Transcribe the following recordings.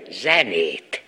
zenét.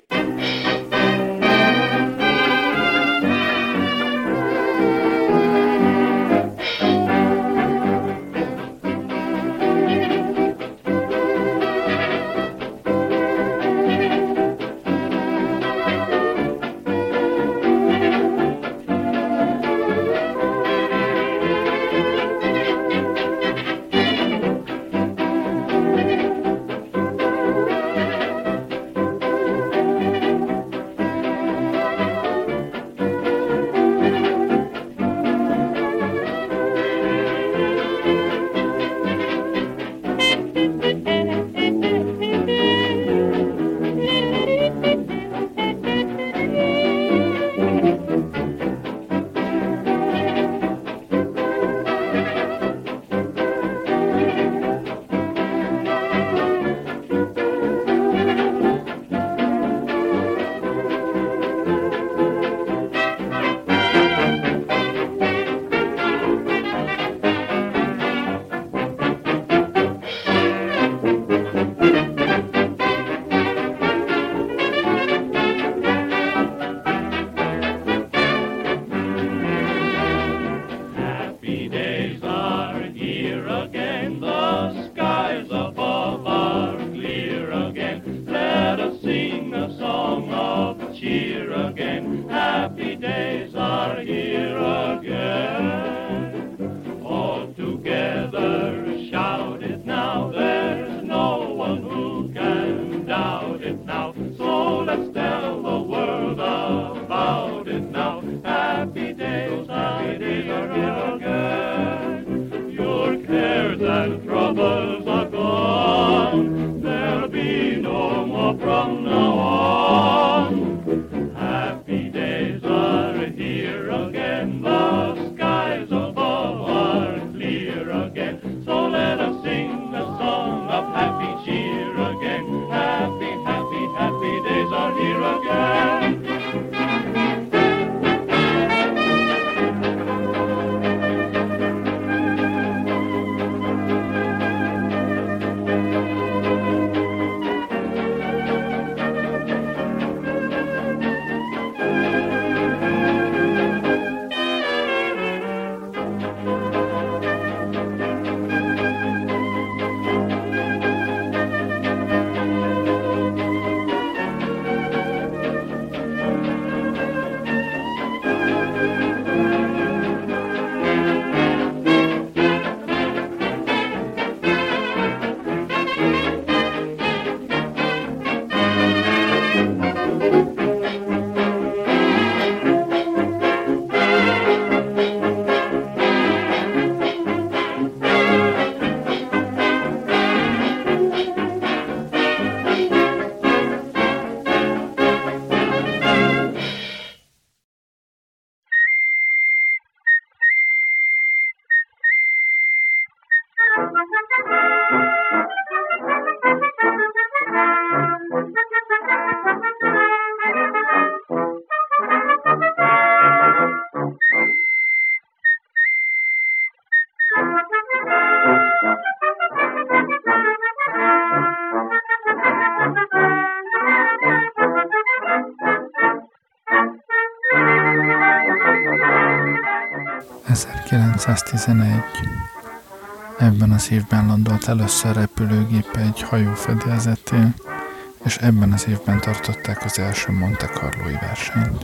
Ebben az évben landolt először repülőgép egy hajó fedélzetén, és ebben az évben tartották az első Monte Carlói versenyt.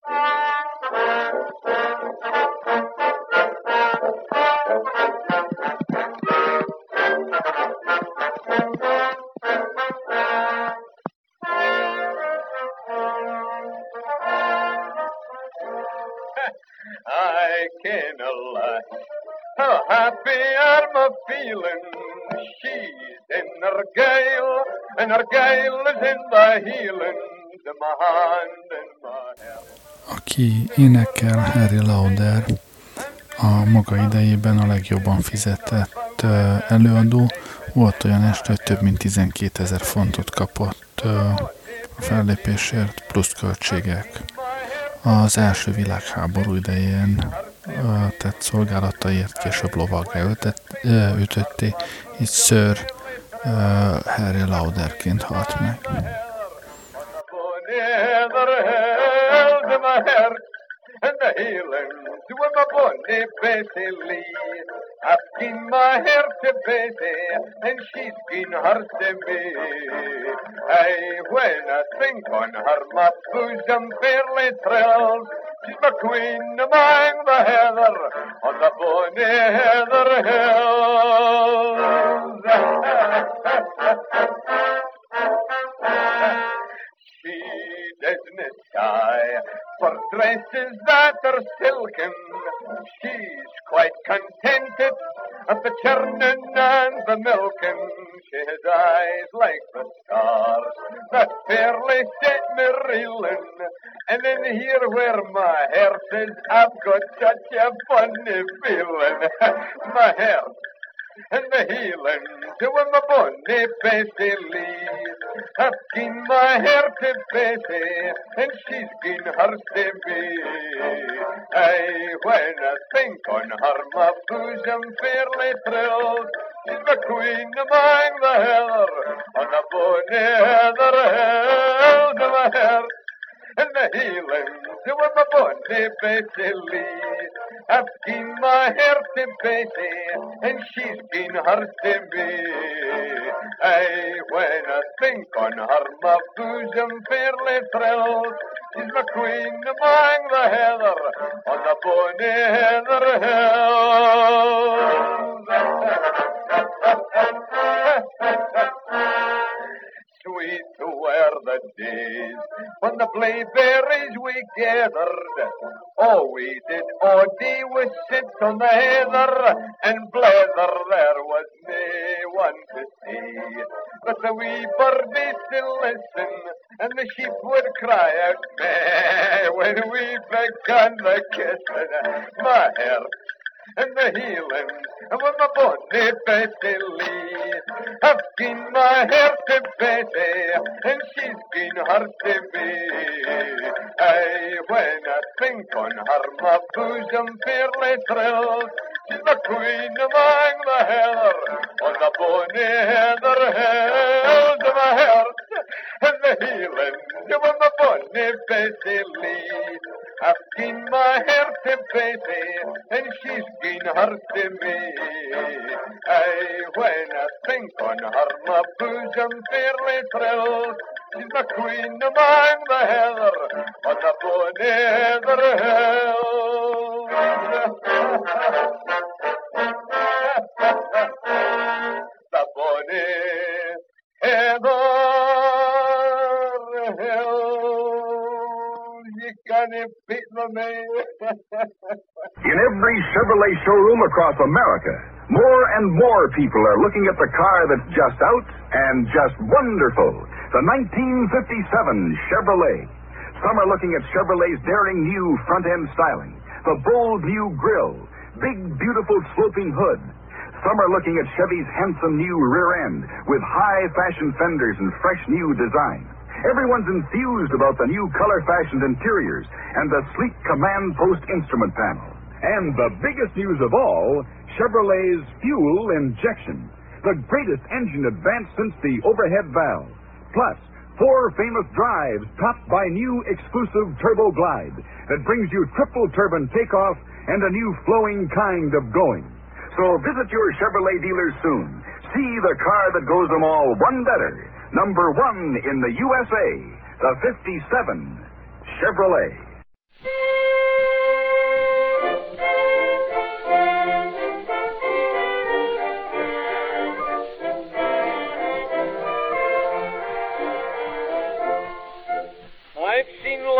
I can lie. How happy I'm a feeling. She's in her gale, and her gale is in the healing. To my hand and my head. Aki énekel, Harry Lauder, a maga idejében a legjobban fizetett előadó. Volt olyan este, hogy több mint 12 000 fontot kapott a fellépésért, plusz költségek. Az első világháború idején tett szolgálataiért később lovaggá ütötték, így Sir Harry Lauderként halt meg. And the healing to my bonny Bessie Lee. I've seen my hair to Bessie, and she's been her to me. Aye, when I think on her, my bosom fairly thrills. She's my queen among the heather, on the bonny heather hills. She doesn't sigh for dresses that are silken. She's quite contented at the churning and the milking. She has eyes like the stars that fairly set me reeling. And in here where my heart is, I've got such a funny feeling. My heart and the healing to my bonny Bessie Lee. I've seen my hair to Bessie, and she's been hers to me. Aye, when I think on her, my bosom fairly thrills. She's the queen among the heather, on the bonny heather hills of my hair. And the healing to my bonny Bessie Lee. I've seen my hair to Bessie, and she's been hers to me. Aye, when I think on her, my bosom fairly thrills. She's my queen among the heather, on the bonny heather hills. Sweet were the days when the blaeberries we gathered. Oh, we did all day we sit on the heather and blether. There was no one to see, but the wee birdies still listen, and the sheep would cry out meh when we began the kissing. My heart and the healing, and with my bonny Bessie Lee. I've seen my hair to Bessie, and she's been hers to me. Aye, when I think on her, my bosom fairly thrills. She's the queen among the heather, on the bonny heather hills of my heart, and the healing, and with my bonny Bessie Lee. I've seen my hair to Bessie, and she's been hers to me. Aye, when I think on her, my bosom fairly thrills. She's the queen among the heather, on the bonny heather hills. The bonny heather hills. You can't beat the man. In every Chevrolet showroom across America, more and more people are looking at the car that's just out and just wonderful. The 1957 Chevrolet. Some are looking at Chevrolet's daring new front-end styling, the bold new grille, big, beautiful sloping hood. Some are looking at Chevy's handsome new rear end with high-fashion fenders and fresh new design. Everyone's enthused about the new color-fashioned interiors and the sleek command post instrument panel. And the biggest news of all, Chevrolet's fuel injection. The greatest engine advance since the overhead valve. Plus, 4 famous drives topped by new exclusive Turbo Glide that brings you triple turbine takeoff and a new flowing kind of going. So visit your Chevrolet dealer soon. See the car that goes them all one better. Number 1 in the USA, the 57 Chevrolet.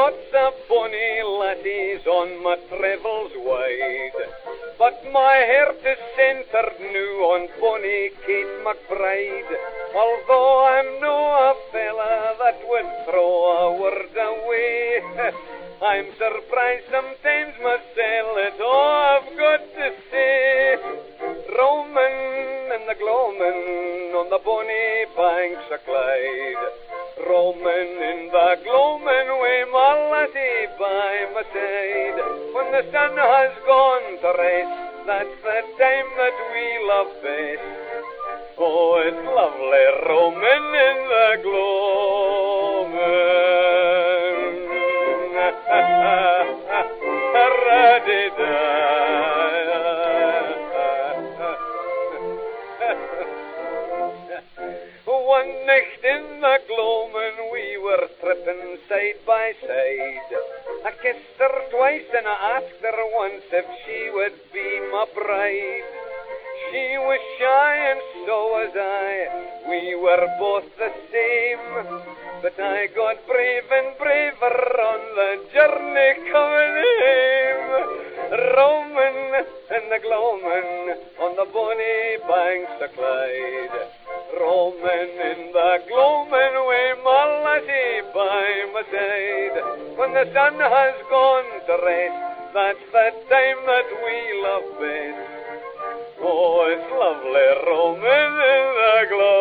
lots of bonny laddies on my travels wide, but my heart is centred now on bonny Kate McBride. Although I'm no a fella that would throw a word away, I'm surprised sometimes myself at all I've got to say. Roaming and the gloaming on the bonny banks of Clyde, roaming in the gloaming with my laddie by my side. When the sun has gone to rest, that's the time that we love best. Oh, it's lovely roaming in the gloaming. One night in the gloaming we were tripping side by side. I kissed her twice and I asked her once if she would be my bride. She was shy and so was I, we were both the same, but I got brave and braver on the journey coming home. Roaming in the gloaming on the bonny banks of Clyde, roaming in the gloaming with my laddie by my side. When the sun has gone to rest, that's the time that we love best. Oh, it's lovely roaming in the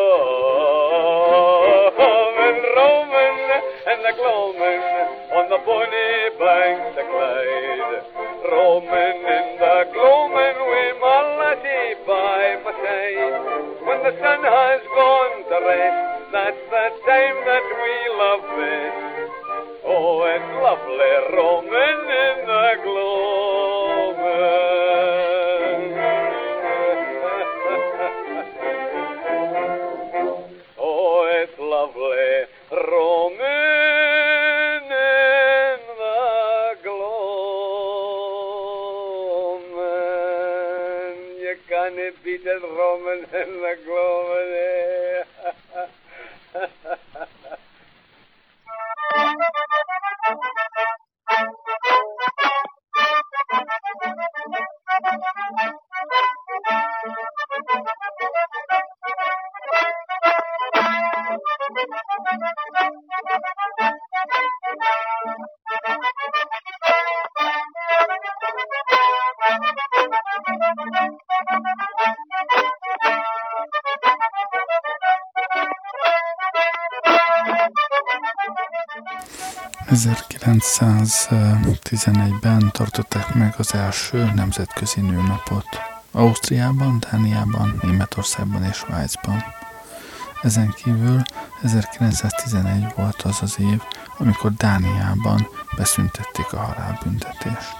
gloaming, roaming in the gloaming on the bonny banks of Clyde, roaming in the gloaming with my laddie by my side. When the sun has gone to rest, that's the time that we love best. Oh, it's lovely roaming in the gloaming. Oh, it's lovely roaming in the gloaming. You can't beat it roaming in the gloaming. ...1911-ben tartották meg az első nemzetközi nőnapot. Ausztriában, Dániában, Németországban és Svájcban. Ezen kívül 1911 volt az az év, amikor Dániában beszüntették a halálbüntetést.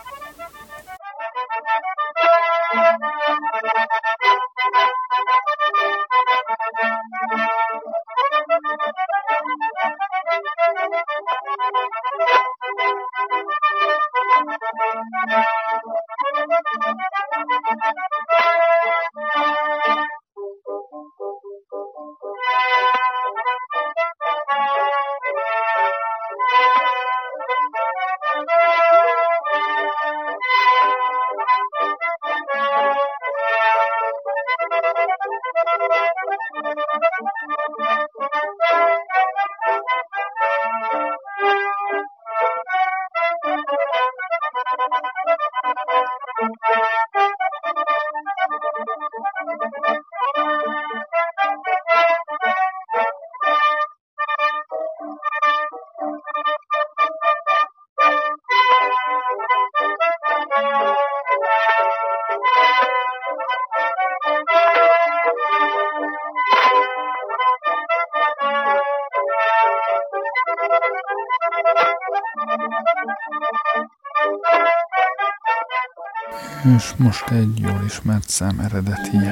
És most egy jól ismert szám eredetije.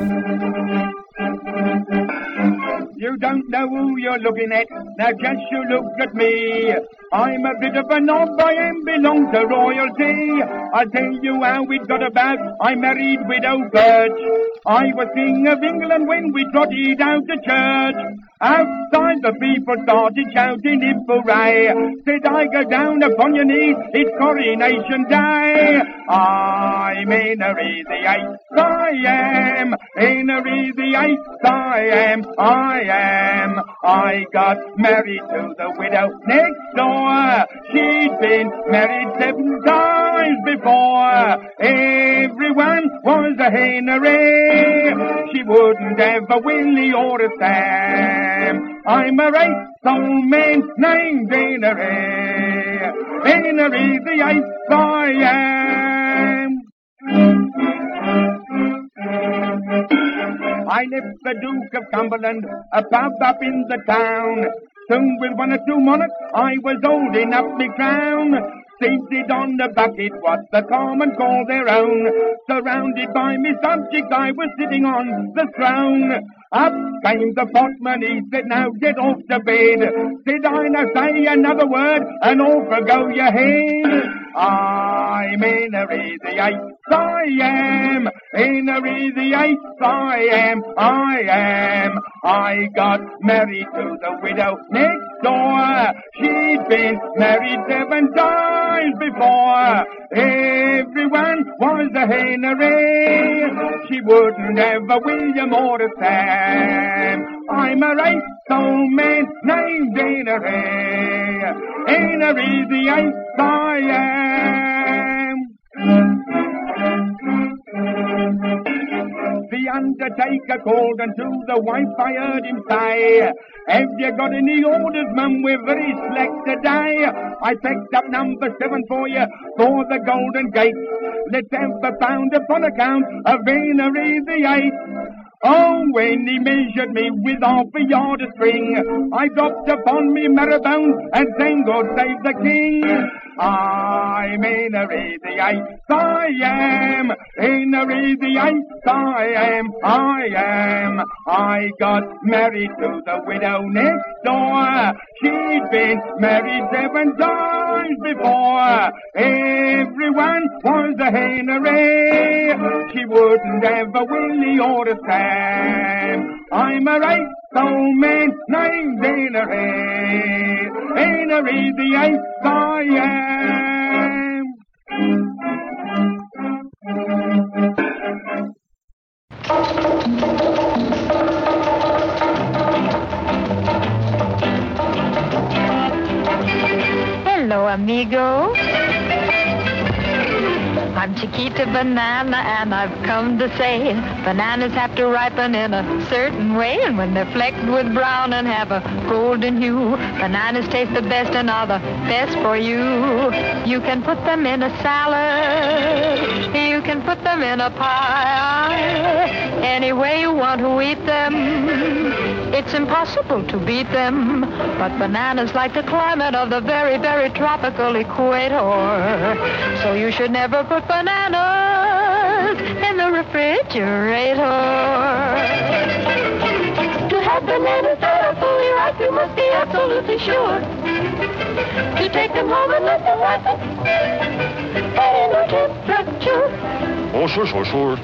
You don't know who you're looking at, now just you look at me. I'm a bit of a knob, I am belong to royalty. I'll tell you how it got about. I married Widow Birch. I was King of England when we trotted out to church. Outside the people started shouting if hooray. Said I go down upon your knees, it's coronation day. I'm Henry the Eighth, I am. Henry the Eighth, I am. I got married to the widow next door. She'd been married 7 times before. Everyone was a Henry. She wouldn't have a Willie or a Sam. I'm a eighth old man named Henry. Henry the Eighth I am. I left the Duke of Cumberland, a pub up in the town. Soon with 1 or 2 monarchs, I was holding up my crown. Seated on the bucket, what the common call their own. Surrounded by me subjects, I was sitting on the throne. Up came the potman, he said, now get off to bed. Said I, now say another word, and off will go your head. I'm Henry the Eighth, I am. Henry the Eighth, I am. I got married to the widow next door. She'd been married 7 times before. Everyone was a Henry. She wouldn't have a William or a Sam. I'm a eighth old man named Henry. Henry the Eighth I am. The undertaker called unto the wife, I heard him say, have you got any orders, mum? We're very slack today. I packed up number 7 for you, for the Golden Gate. Let's have a pound upon account of Henry the Eighth. Oh, when he measured me with half a yard of string, I dropped upon me marrow-bones and sang God save the King. I'm Henry the Eighth, I am. Henry the Eighth, I am. I got married to the widow next door. She'd been married 7 times before. Everyone was a Henry. She wouldn't have a Willie or a Sam. I'm a eighth old man named Henry. Henry the Eighth I am. Hello, amigo. I'm Chiquita Banana, and I've come to say bananas have to ripen in a certain way, and when they're flecked with brown and have a golden hue, bananas taste the best and are the best for you. You can put them in a salad, you can put them in a pie, any way you want to eat them. It's impossible to beat them, but bananas like the climate of the very, very tropical equator. So you should never put bananas in the refrigerator. To have bananas that are fully ripe, you must be absolutely sure to take them home and let them ripen at indoor temperature. Oh, sure.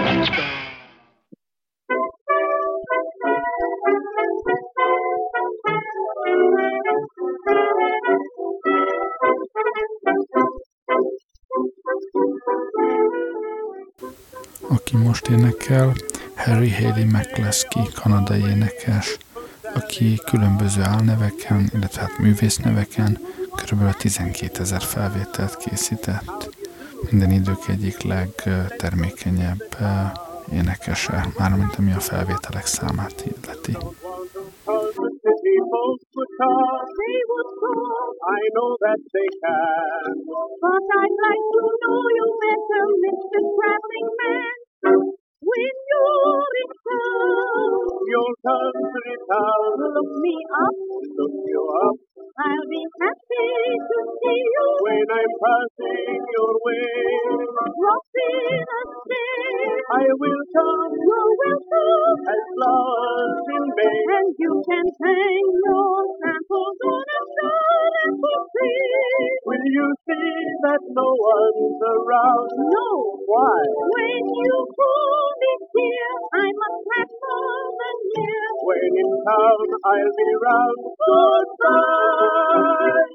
Aki most énekel, Harry Haley McCluskey, kanadai énekes, aki különböző álneveken, illetve hát művészneveken kb. 12 000 felvételt készített. Minden idők egyik legtermékenyebb énekese, mármint ami a felvételek számát illeti. I know that they can. But I'd like to know you better, Mr. Traveling Man. When you return, your country town, look me up, look you up. I'll be happy to see you when I'm passing your way. Drop in a stay. I will come. You're welcome. As flowers in May. And you can hang your samples on a star apple tree. Will you see that no one's around? No. Why? When you call me dear, I must have more near. When in town, I'll be round. Goodbye.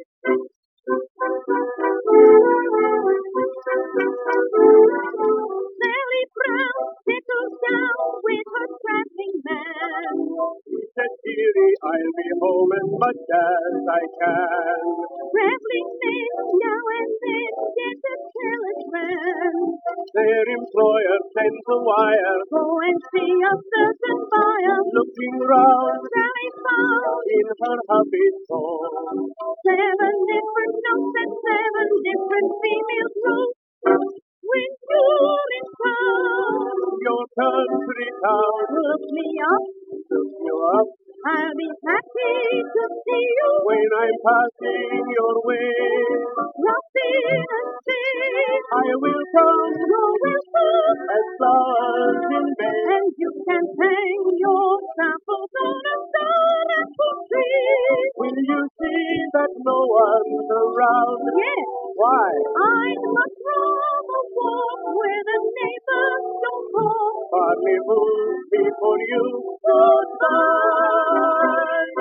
Sally Brown settles down with her traveling man. He said, dearie, I'll be home as much as I can. Traveling men now and then get a telegram. Their employer sends a wire. Go and see a certain buyer. Looking round, Sally found in her hubby's home 7 different notes and 7 different female clothes. When you're in town, your country town, look me up, look you up. I'll be happy to see you when I'm passing your way. Drop in and say, I will come, you're welcome, as flowers in May. And you can hang your samples on a star apple tree. Will you see that no one's around? Yes. Why? I'd much rather walk where the neighbors don't talk. Parlez-vous before you goodbye.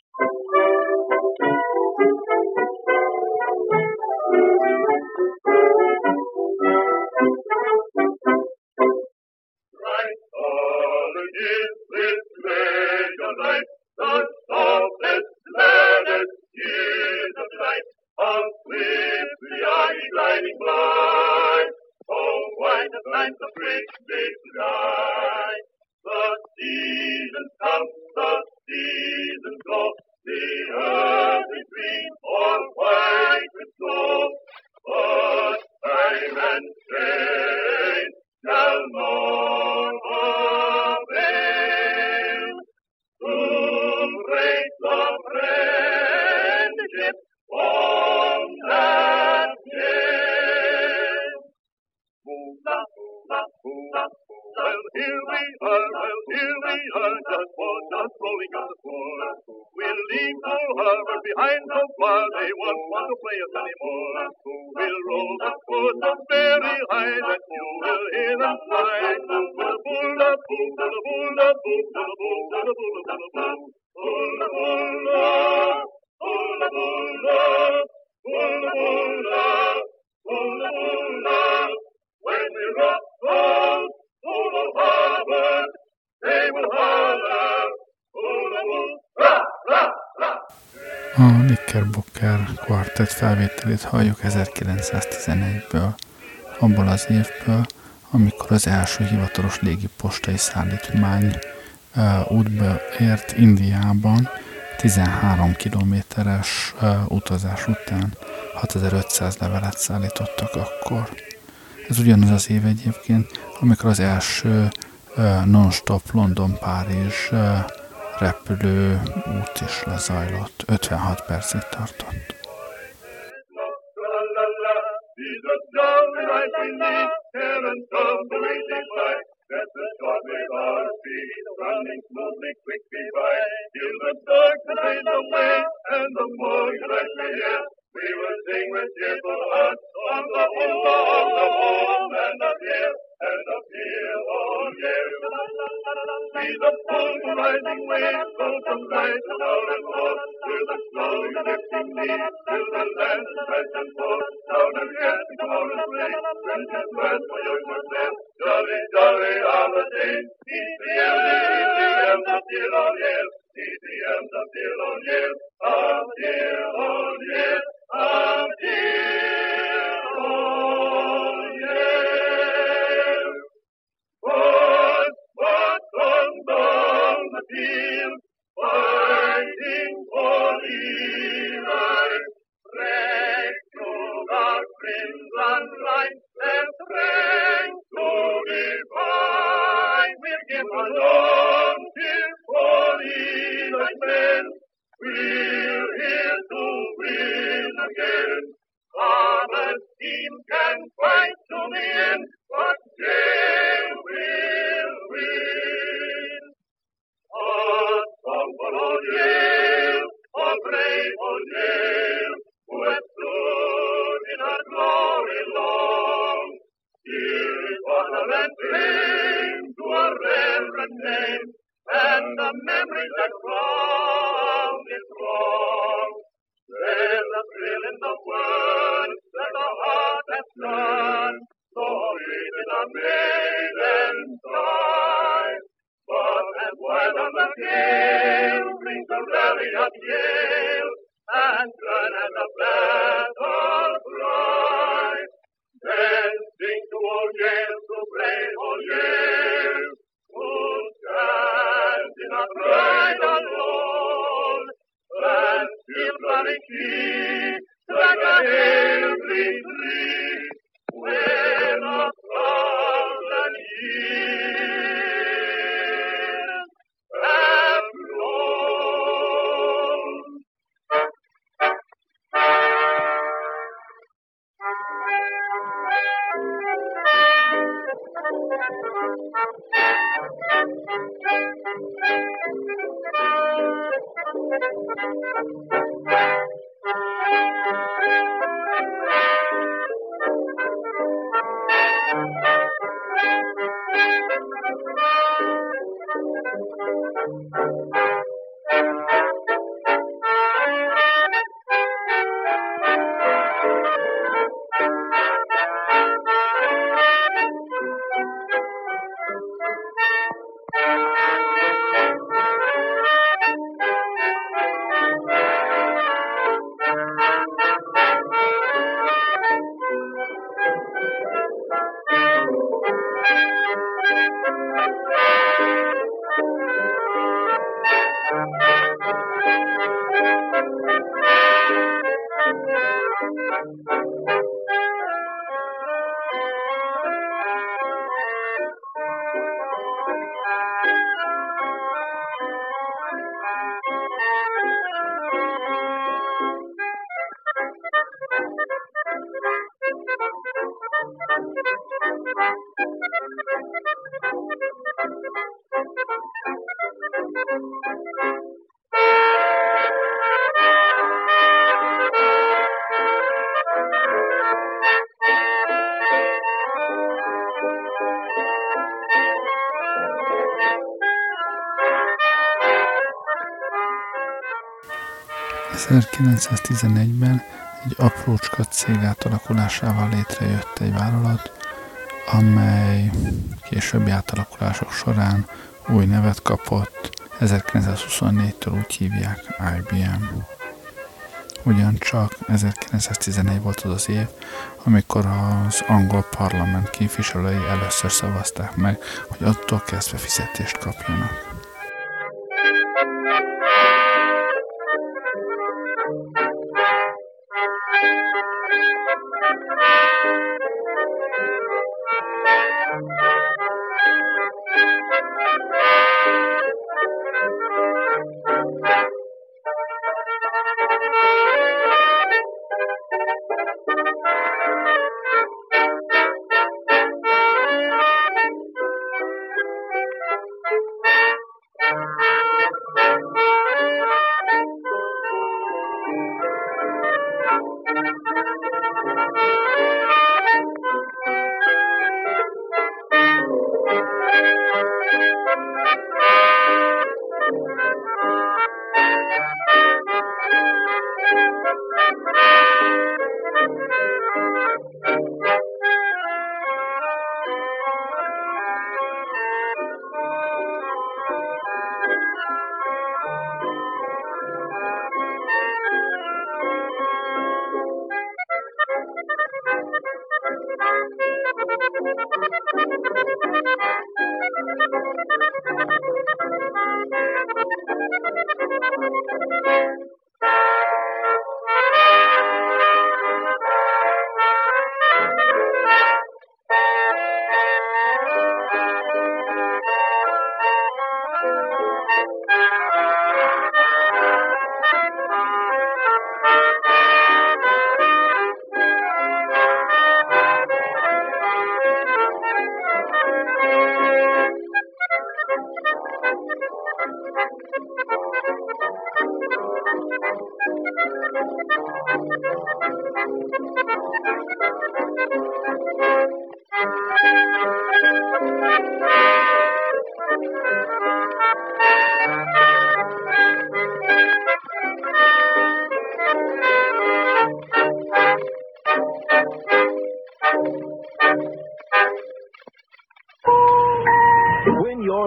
Right on is this pleasure night, the softest, gladdest years of light. How swiftly are ye gliding by, oh, white as night, the great big sky. The seasons come, the seasons go, the earth is green or white with snow, but time and change shall not avail to break the friendship on that day. Well, here we are, just rolling on the floor. We'll leave old harbor behind so far, they won't want to play us anymore. We'll roll the boat up very high, that you will hear them fly. When we rock those old harbor, they will holler, A Knickerbocker Quartet felvételét halljuk 1911-ből, abból az évből, amikor az első hivatalos légipostai szállítmány útba ért Indiában, 13 kilométeres utazás után 6500 levelet szállítottak akkor. Ez ugyanaz az év egyébként, amikor az első non-stop London-Párizs repülő út is lezajlott. 56 percig tartott. Running smoothly, quickly by, till the dark fades away, and the more you let me hear, we will sing with cheerful hearts on the home and up here, oh yeah. See the full rising wave, go from right to down and forth, through the slowly drifting leaves, till the land is fresh and full, down and yet the mountain play, friends and friends for young ones there, jolly, jolly are the days, ECM, the dear old years, ECM, the dear old years, of dear old years, of dear old years. What comes on the field, fighting for Levi, rescue our crimson line, and strength to defy. We'll give our long till for Levi's men, we're here to win again. Our team can fight to the end, but they will win. A song for old Yale, a brave old Yale, who has stood settle and cling to a reverend name, and the memories that crown its throng. There's a thrill in the words that the heart has done, so sweet in a maiden's sigh. But as wild on the gale brings the rally of Yale, and turn as a battle cry, then sing to old Yale, to brave old Yale, who stands in a pride alone, and still running key like a every tree, when a thousand years have flown. ...1911-ben egy aprócska cég átalakulásával létrejött egy vállalat, amely későbbi átalakulások során új nevet kapott, 1924-től úgy hívják IBM. Ugyancsak 1914 volt az az év, amikor az angol parlament képviselői először szavazták meg, hogy attól kezdve fizetést kapjanak.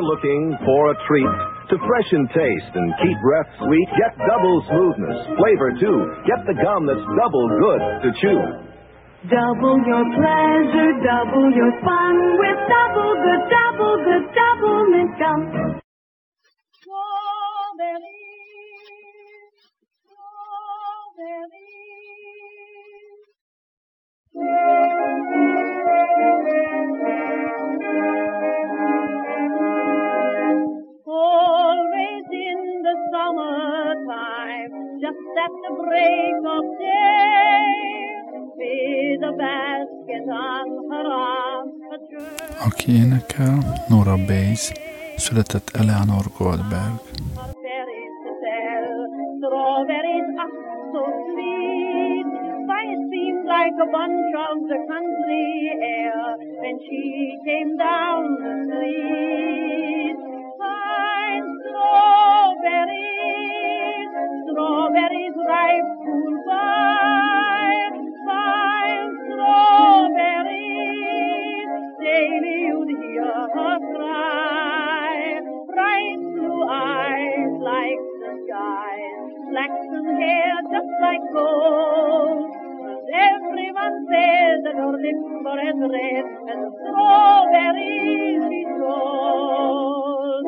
you're looking for a treat to freshen taste and keep breath sweet, get double smoothness, flavor too. Get the gum that's double good to chew. Double your pleasure, double your fun with double mint gum. Always in the summertime, just at the break of day, with a basket on her arm. Aki énekel, Nora Bayes, született Eleanor Goldberg. Strawberries are so sweet, why it seemed like a bunch of the country air when she came down the street. Fine strawberries, strawberries ripe cool by, fine strawberries, daily you'd hear her cry. Bright blue eyes like the skies, flaxen hair just like gold. And everyone says that her lips were as red as the strawberries we sold.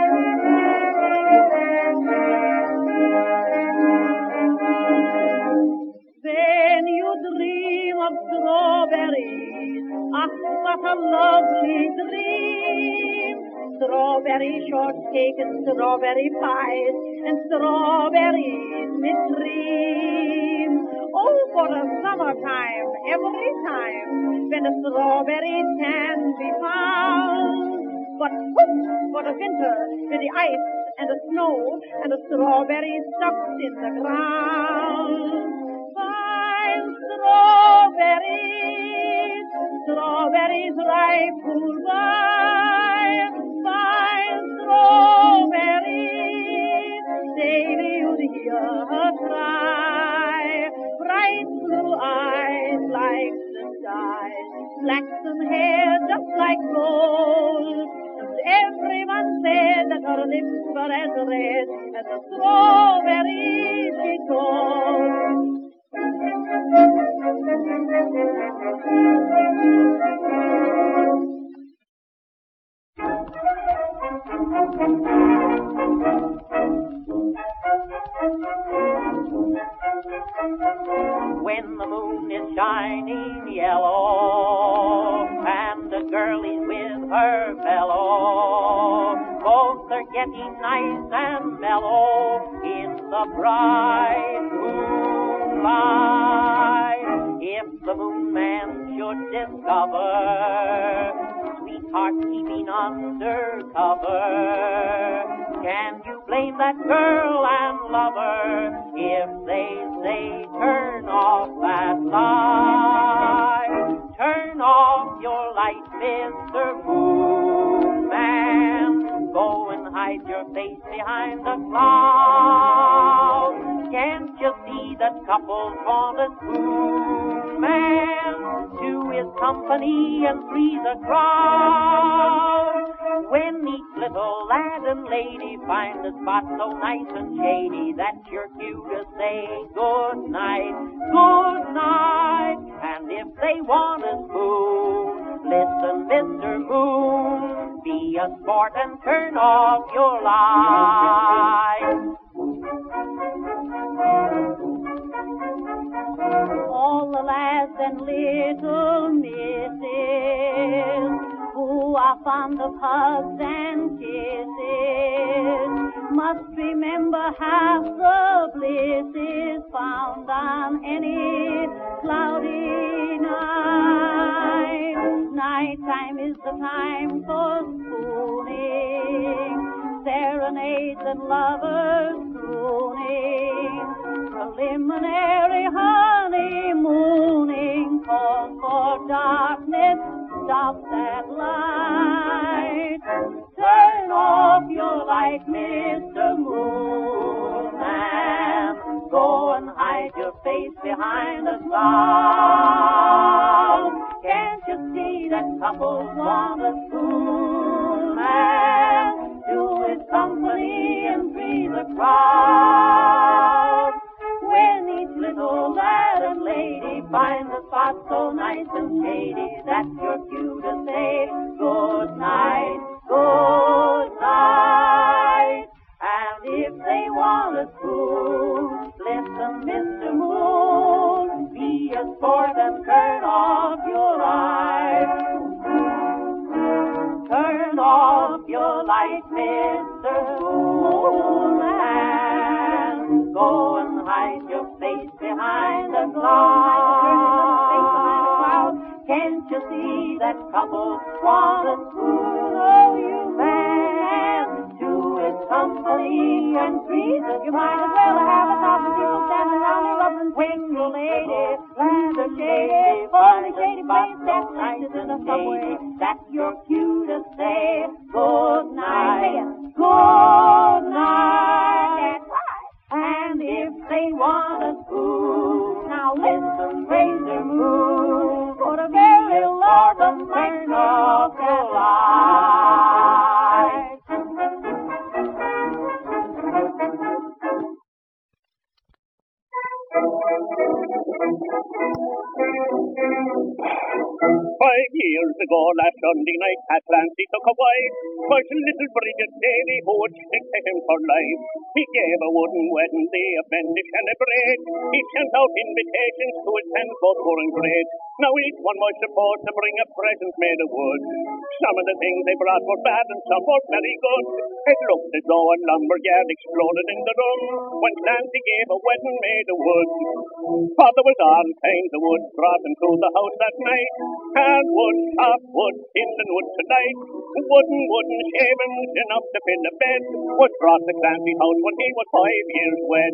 When you dream of strawberries, ah, what a lovely dream. Strawberry shortcake and strawberry pies and strawberries midstream. Oh, for a summertime, every time, when the strawberries can be found. But whoop, for the winter, with the ice and the snow and the strawberries stuck in the ground. Fine strawberries, strawberries ripe cool by, fine strawberries, daily you'd hear her cry. Bright blue eyes like the sky, flaxen hair just like gold. And everyone said that her lips were as red as the strawberries she told. When the moon is shining yellow and the girl is with her fellow, both are getting nice and mellow in the bright moonlight. If the moon man should discover sweetheart keeping undercover, can you blame that girl and lover if they say turn off that light? Turn off your light, Mr. Moon Man. Go and hide your face behind the cloud. Can't you see that couples want a spoon man to his company and freeze a crowd? When each little lad and lady find a spot so nice and shady that your cue to say good night, good night. And if they want a spoon, listen, Mr. Moon, be a sport and turn off your light. All the lads and little misses who are fond of hugs and kisses must remember half the bliss is found on any cloudy night. Nighttime is the time for spooning, serenades and lovers crooning, preliminary honeymooning, call for darkness, stop that light. Turn off your light, Mr. Moon Man. Go and hide your face behind the cloud. Can't you see that couples want a spoon man? love. When each little lad and lady finds a spot so nice and shady that you're cue to say good night, good night. And if they want a spoon, listen, Mr. Moon, be a sport and turn off your light. Turn off your light, Mr. Moon, and go and hide your face behind a cloud. Can't you see that couple want a spoon? Oh, you man, two is company and three's a you might as well have 1,000 people standing around you loving when your lady plans a shady, funny shady place that night in the subway. That's your cue to say good night, good night. That's right. And if they want a spoon, now listen, Razor Moon, for the very Lord of turn off your light. Five years ago, last Sunday night, Pat Clancy took a wife. 'Twas little Bridget Davy who would stick to him for life. He gave a wooden wedding day, a bendish and a break. He sent out invitations to attend, both were great. Now each one was supposed to bring a present made of wood. Some of the things they brought were bad and some were very good. It looked as though a lumberyard exploded in the room when Clancy gave a wedding made of wood. For there was all kinds of wood brought into the house that night. Hardwood, softwood, kindling wood tonight. Wooden shavings enough to fill a bed was brought to Clancy's house when he was 5 years wed.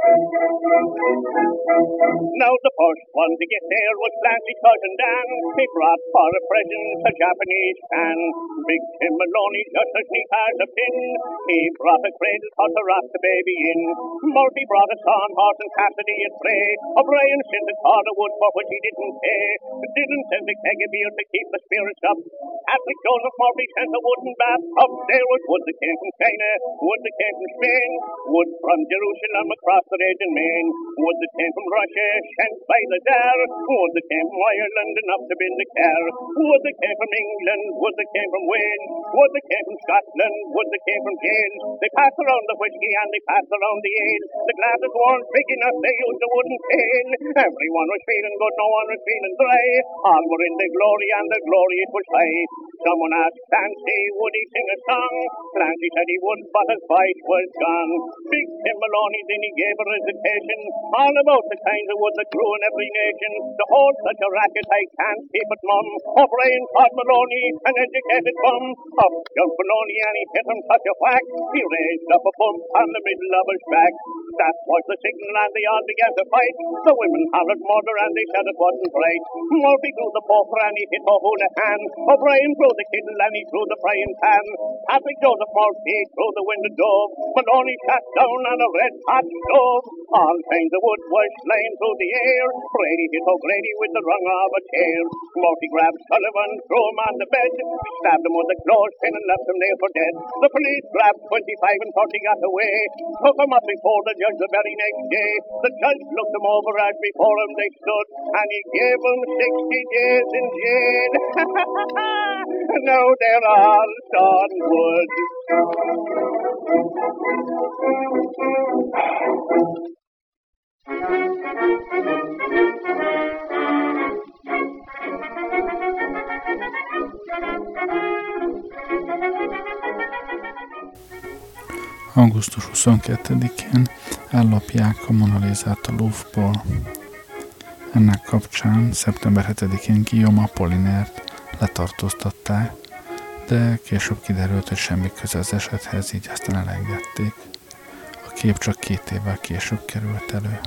Now the first one to get there was Clancy's cousin Dan. He brought for a present a Japanese fan. Big Tim Maloney just as neat as a pin. He brought a cradle pot to rock the baby in. Murphy brought a sawn horse and Cassidy a tray. O'Brien sent a cord of wood for which he didn't pay. Didn't send a keg of beer to keep the spirits up. Patrick Joseph Murphy sent a wooden bathtub. There was wood that came from China, wood that came from Spain, wood from Jerusalem across the Raging Main, wood that came from Russia, sent by the Tsar, wood that came from Ireland enough to build a car, wood that came from England, wood that came from Wales, wood that came from Scotland, wood that came from Gales. They passed around the whiskey and they passed around the ale. The glasses weren't big enough, they used a wooden pail. Everyone was feeling good, no one was feeling dry. All were in the glory and the glory it was high. Someone asked Clancy, would he sing a song? Clancy said he would, but his voice was gone. Big Tim Maloney then he gave a recitation all about the kinds of wood that grew in every nation. To hold such a racket I can't keep it mum. O'Brien called Maloney an educated bum. Up jumped Maloney and he hit him such a whack. He raised up a bump on the middle of his back. That was the signal and they all began to fight. The women hollered murder and they said it wasn't right. Murphy threw the poker and he hit O'Houlihan. O'Brien threw the kettle and he threw the frying pan. Patrick Joseph Murphy threw the window dove. Maloney sat down on a red hot stove. All kinds of wood was flying through the air. Brady hit O'Grady with the rung of a chair. Murphy grabbed Sullivan, threw him on the bed, stabbed him with a clothespin and left him there for dead. The police grabbed 25 and 30 got away. Took him up before the judge the very next day. The judge looked him over as before him they stood, and he gave him 60 days in jail. Now they're all sawn wood. Augusztus 22-én ellopják a Mona Lisát a Louvre-ból. Ennek kapcsán szeptember 7-én Guillaume Apollinairt letartóztatták, de később kiderült, hogy semmi köze az esethez, így aztán elengedték. A kép csak 2 évvel később került elő.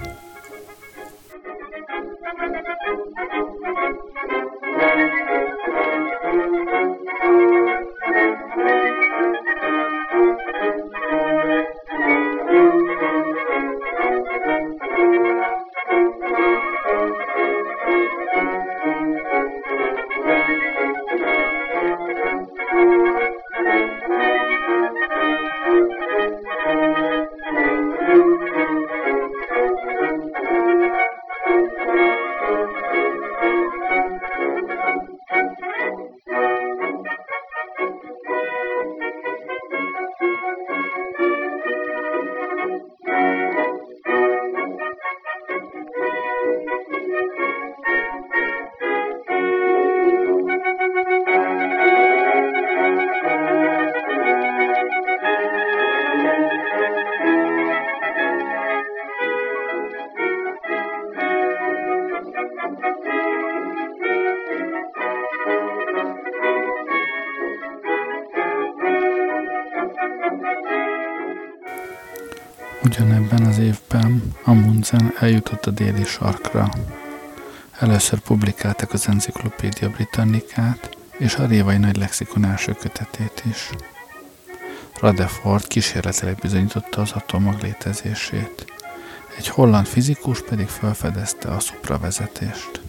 Ugyanebben az évben Amundsen eljutott a déli sarkra. Először publikálták az Encyclopedia Britannicát és a Révai Nagy Lexikon első kötetét is. Rutherford kísérletileg bizonyította az atommag létezését. Egy holland fizikus pedig felfedezte a szupravezetést.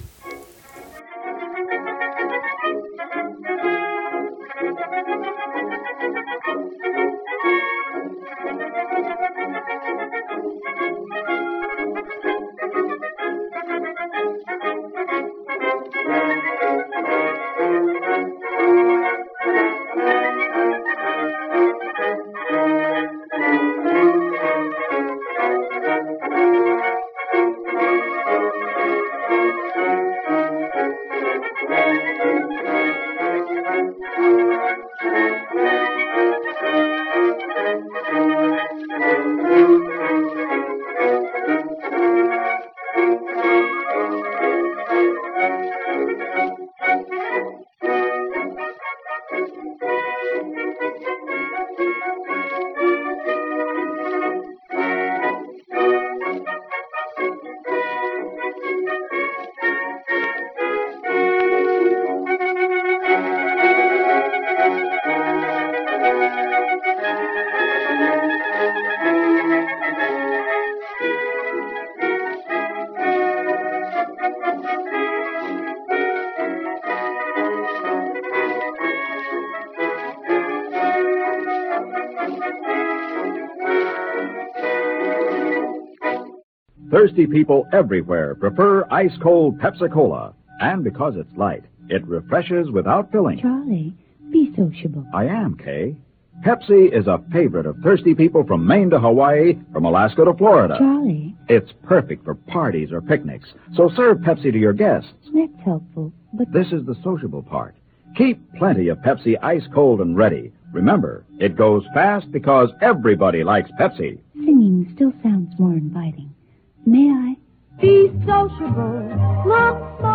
Thirsty people everywhere prefer ice-cold Pepsi-Cola. And because it's light, it refreshes without filling. Charlie, be sociable. I am, Kay. Pepsi is a favorite of thirsty people from Maine to Hawaii, from Alaska to Florida. Charlie. It's perfect for parties or picnics. So serve Pepsi to your guests. That's helpful, but... This is the sociable part. Keep plenty of Pepsi ice-cold and ready. Remember, it goes fast because everybody likes Pepsi. Singing still sounds more inviting. May I? Be sociable, look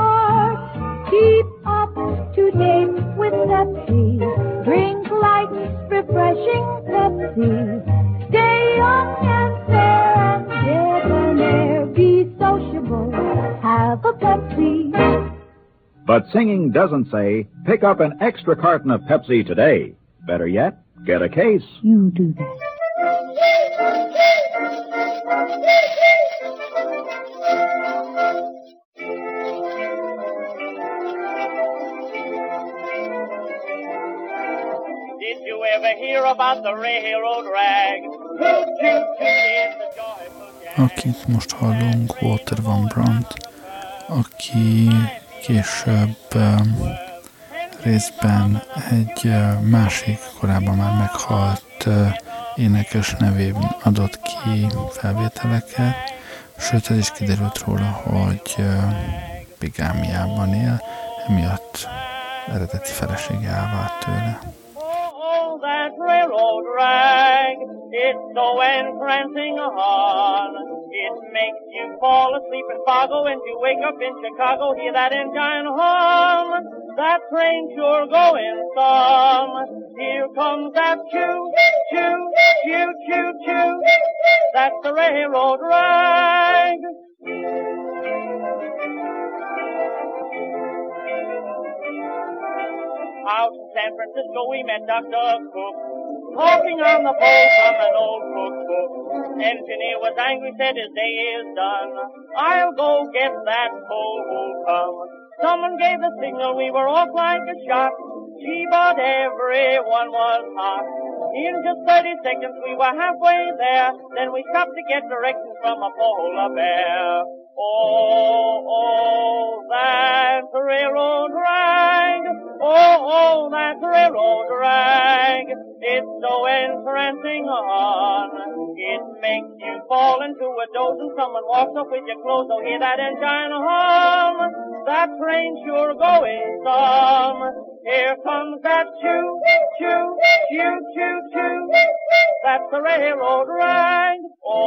smart, keep up to date with Pepsi. Drink light, refreshing Pepsi. Stay young and fair and debonair. Be sociable, have a Pepsi. But singing doesn't say, pick up an extra carton of Pepsi today. Better yet, get a case. You do that. Did you ever hear about the railroad rag? Toot, toot, toot, it's a joyful jazz. Akit most hallunk, Walter Van Brandt, aki később részben egy másik, korábban már meghalt énekes nevén adott ki felvételeket, sőt, ez is kiderült róla, hogy bigámiában él, emiatt eredeti felesége elvált tőle. Oh, that railroad rag, it's so entrancing on. It makes you fall asleep in Fargo and you wake up in Chicago, hear that engine hum. That train sure going some. Here comes that choo, choo, choo, choo, choo. That's the railroad rag. Out in San Francisco we met Dr. Cook, talking on the phone from an old cookbook. Engineer was angry, said his day is done. I'll go get that coal who'll come. Someone gave the signal, we were off like a shot. Gee, but everyone was hot. In just 30 seconds we were halfway there. Then we stopped to get directions from a polar bear. Oh, that railroad rag. Oh, that railroad rag. It's so entrancing on. It makes you fall into a doze and someone walks up with your clothes. Oh, hear that engine hum. That train sure going some. Here comes that choo, choo, choo, choo, choo. That's the railroad rag.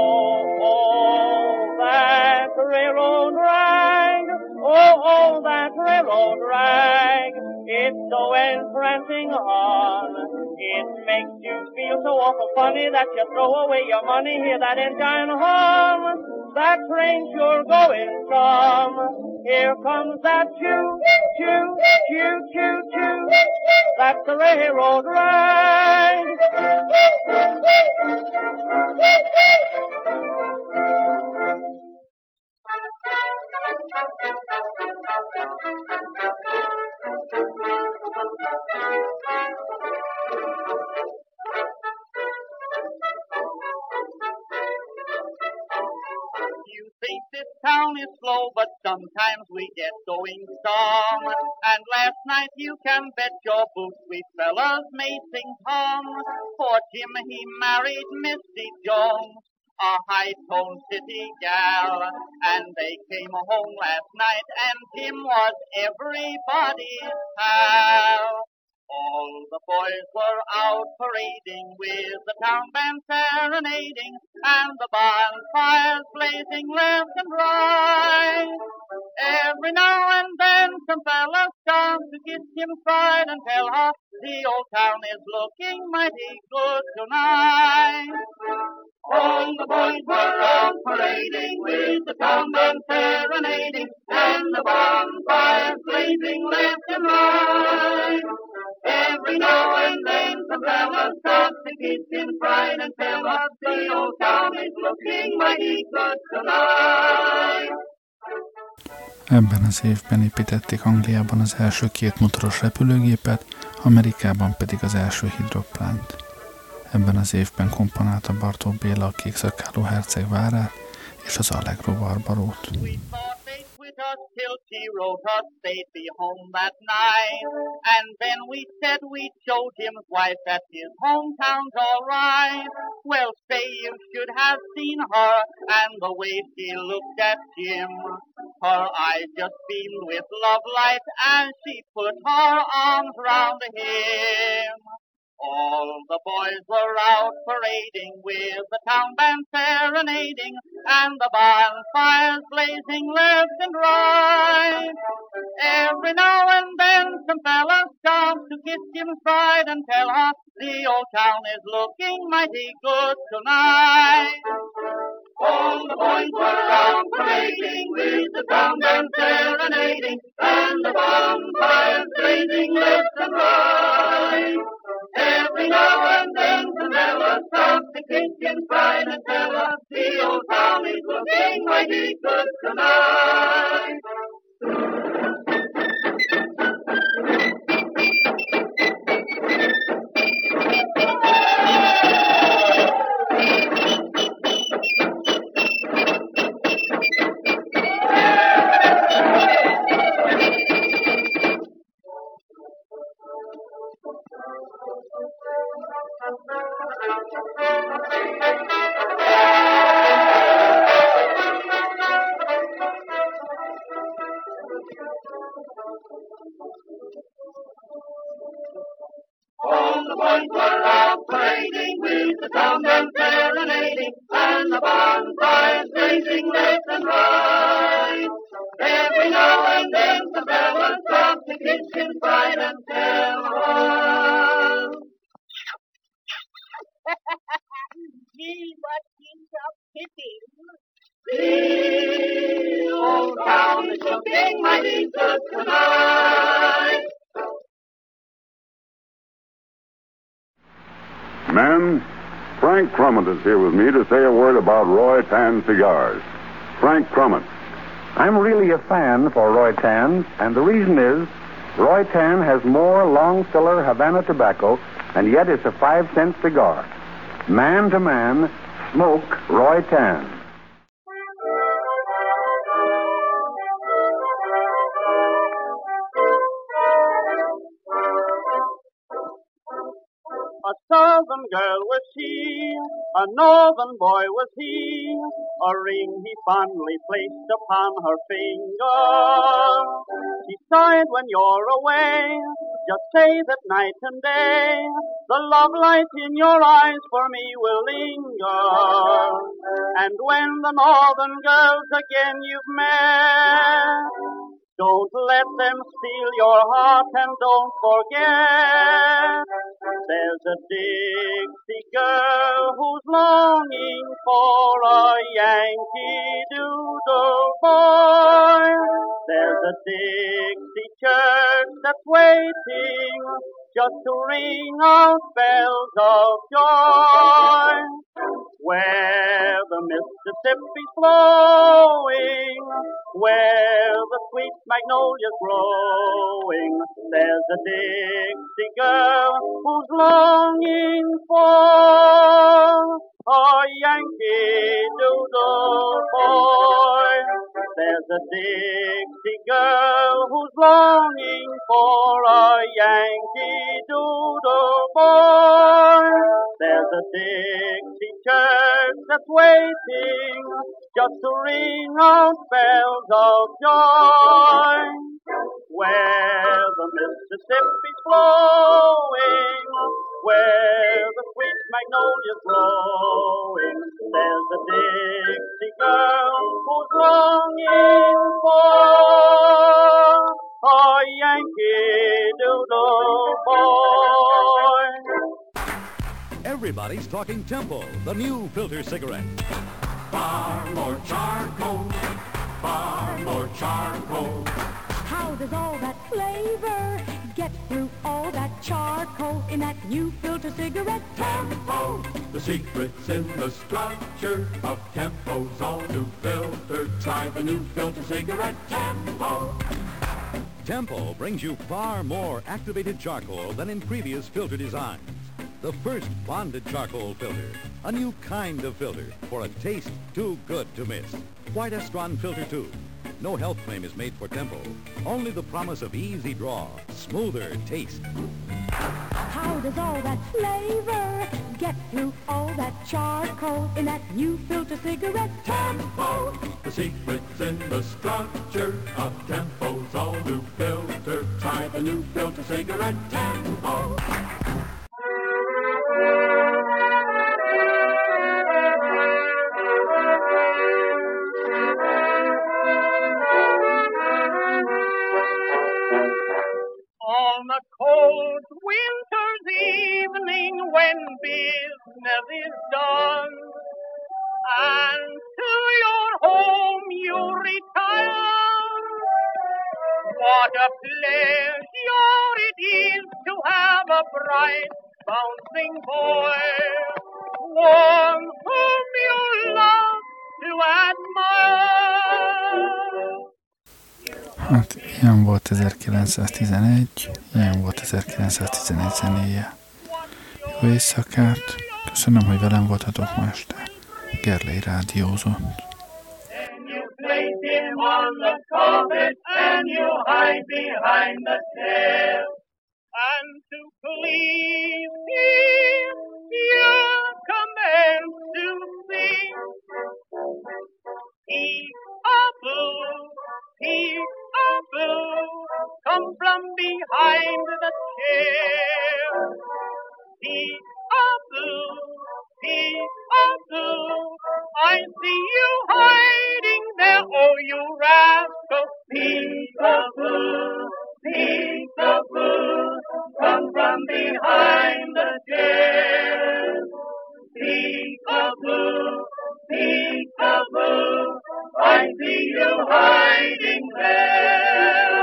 Oh, that railroad rag. Oh, that railroad rag. It's so entrancing on. It makes you feel so awful funny that you throw away your money. Hear that engine hum. That train sure going some. Here comes that choo, choo, choo, choo, choo. That's the railroad ride. You think this town is slow, but sometimes we get going strong. And last night you can bet your boots we fellas made sing Tom. For Jim he married Missy Jones, a high-toned city gal. And they came home last night and Jim was everybody's pal. All the boys were out parading with the town band serenading and the bonfires blazing left and right. Every now and then some fellas come to kiss him pride and tell her the old town is looking mighty good tonight. All the boys were out parading with the town band serenading and the bonfires blazing left and right. Every now and then some fellas stop to kiss in pride and tell us the old town is looking mighty good tonight. Ebben az évben építették Angliában az első 2 motoros repülőgépet, Amerikában pedig az első hidroplánt. Ebben az évben komponálta Bartók Béla a Kékszakáló herceg várát és az Allegro Barbarót. Till she wrote us they'd be home that night. And then we said we'd show Jim's wife that his hometown's all right. Well, say you should have seen her and the way she looked at Jim. Her eyes just beamed with love light as she put her arms round him. All the boys were out parading with the town band serenading and the bonfires blazing left and right. Every now and then some fellas stop to kiss Jim's bride and tell her the old town is looking mighty good tonight. All the boys were out parading with the town band serenading and the bonfires blazing left and right. Every now and then some fellas stop to kiss Jim's bride and tell us the old town is looking mighty good tonight. All the boys were out parading with the town band serenading and the bonfires blazing left and right. Every now and then the fellas stop to kiss his bride and tell her. Gee, what seems of pity. The old town is looking mighty good tonight. Men, Frank Crummett is here with me to say a word about Roy Tan cigars. Frank Crummett. I'm really a fan for Roy Tan, and the reason is Roy Tan has more long filler Havana tobacco, and yet it's a 5-cent cigar. Man to man, smoke Roy Tan. A southern girl was she, a northern boy was he, a ring he fondly placed upon her finger. She sighed when you're away, just say that night and day, the love light in your eyes for me will linger. And when the northern girls again you've met, Don't let them steal your heart and don't forget there's a Dixie girl who's longing for a Yankee Doodle boy. There's a Dixie church that's waiting just to ring out bells of joy. Where the Mississippi's flowing, where the sweet magnolia's growing, there's a Dixie girl who's longing for a Yankee Doodle boy. There's a Dixie girl who's longing for a Yankee Doodle boy. There's a Dixie church that's waiting just to ring out bells of joy. Where the Mississippi's flowing, where the sweet magnolia's growing, there's a Dixie girl who's longing for a Yankee Doodle boy. Everybody's talking Tempo, the new filter cigarette. Far more charcoal, far more charcoal. How does all that flavor get through all that charcoal in that new filter cigarette? Tempo, the secret's in the structure of Tempo's all new filter. Try the new filter cigarette, Tempo. Tempo brings you far more activated charcoal than in previous filter designs. The first bonded charcoal filter, a new kind of filter for a taste too good to miss. White Estron Filter 2. No health claim is made for Tempo. Only the promise of easy draw, smoother taste. How does all that flavor get through all that charcoal in that new filter cigarette? Tempo, the secret's in the structure of Tempo's all new filter. Try the new filter cigarette, Tempo. On a cold winter's evening when business is done, and to your home you retire, what a pleasure it is to have a bright, bouncing boy, one whom you love to admire. Hát ilyen volt 1911, ilyen volt 1911 zenéje. Jó éjszakát, köszönöm, hogy velem voltatok ma este. Gerlei rádiózott. And to please him, you commence to sing. Peek-a-boo, peek-a-boo, come from behind the chair. Peek-a-boo, peek-a-boo, I see you hiding there, oh you rascal. Peek-a-boo, peek-a-boo, come from behind the chair. Peek-a-boo, peek-a-boo, I see you hiding there.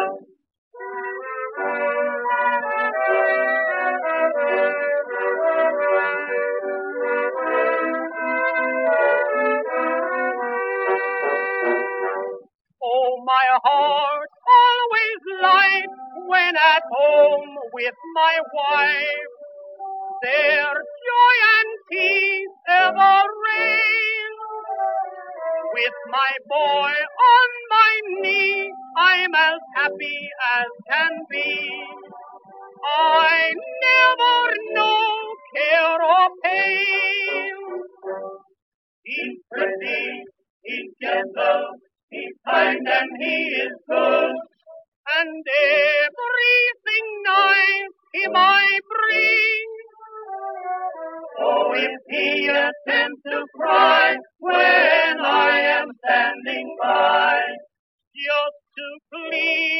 Oh, my heart always light when at home with my wife. Their joy and peace ever reign. With my boy on my knee, I'm as happy as can be. I never know care or pain. He's pretty, he's gentle, he's kind and he is good. And everything nice him I bring. Oh, if he attempts to cry when I am standing by, just to please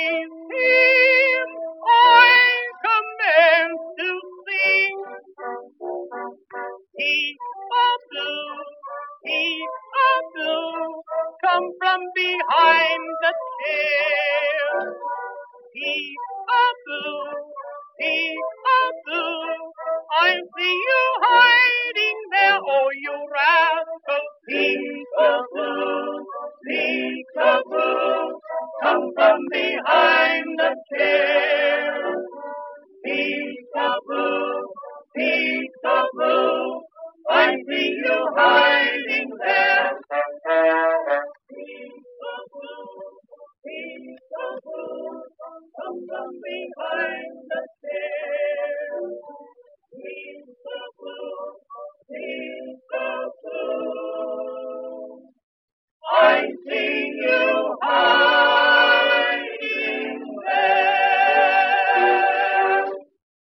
Peek-a-boo, peek-a-boo, I see you hiding there, oh, you rascal. Peek-a-boo, peek-a-boo, come from behind the chair. Peek-a-boo, peek-a-boo, I see you hiding there. Peek-a-boo, peek-a-boo, come from behind the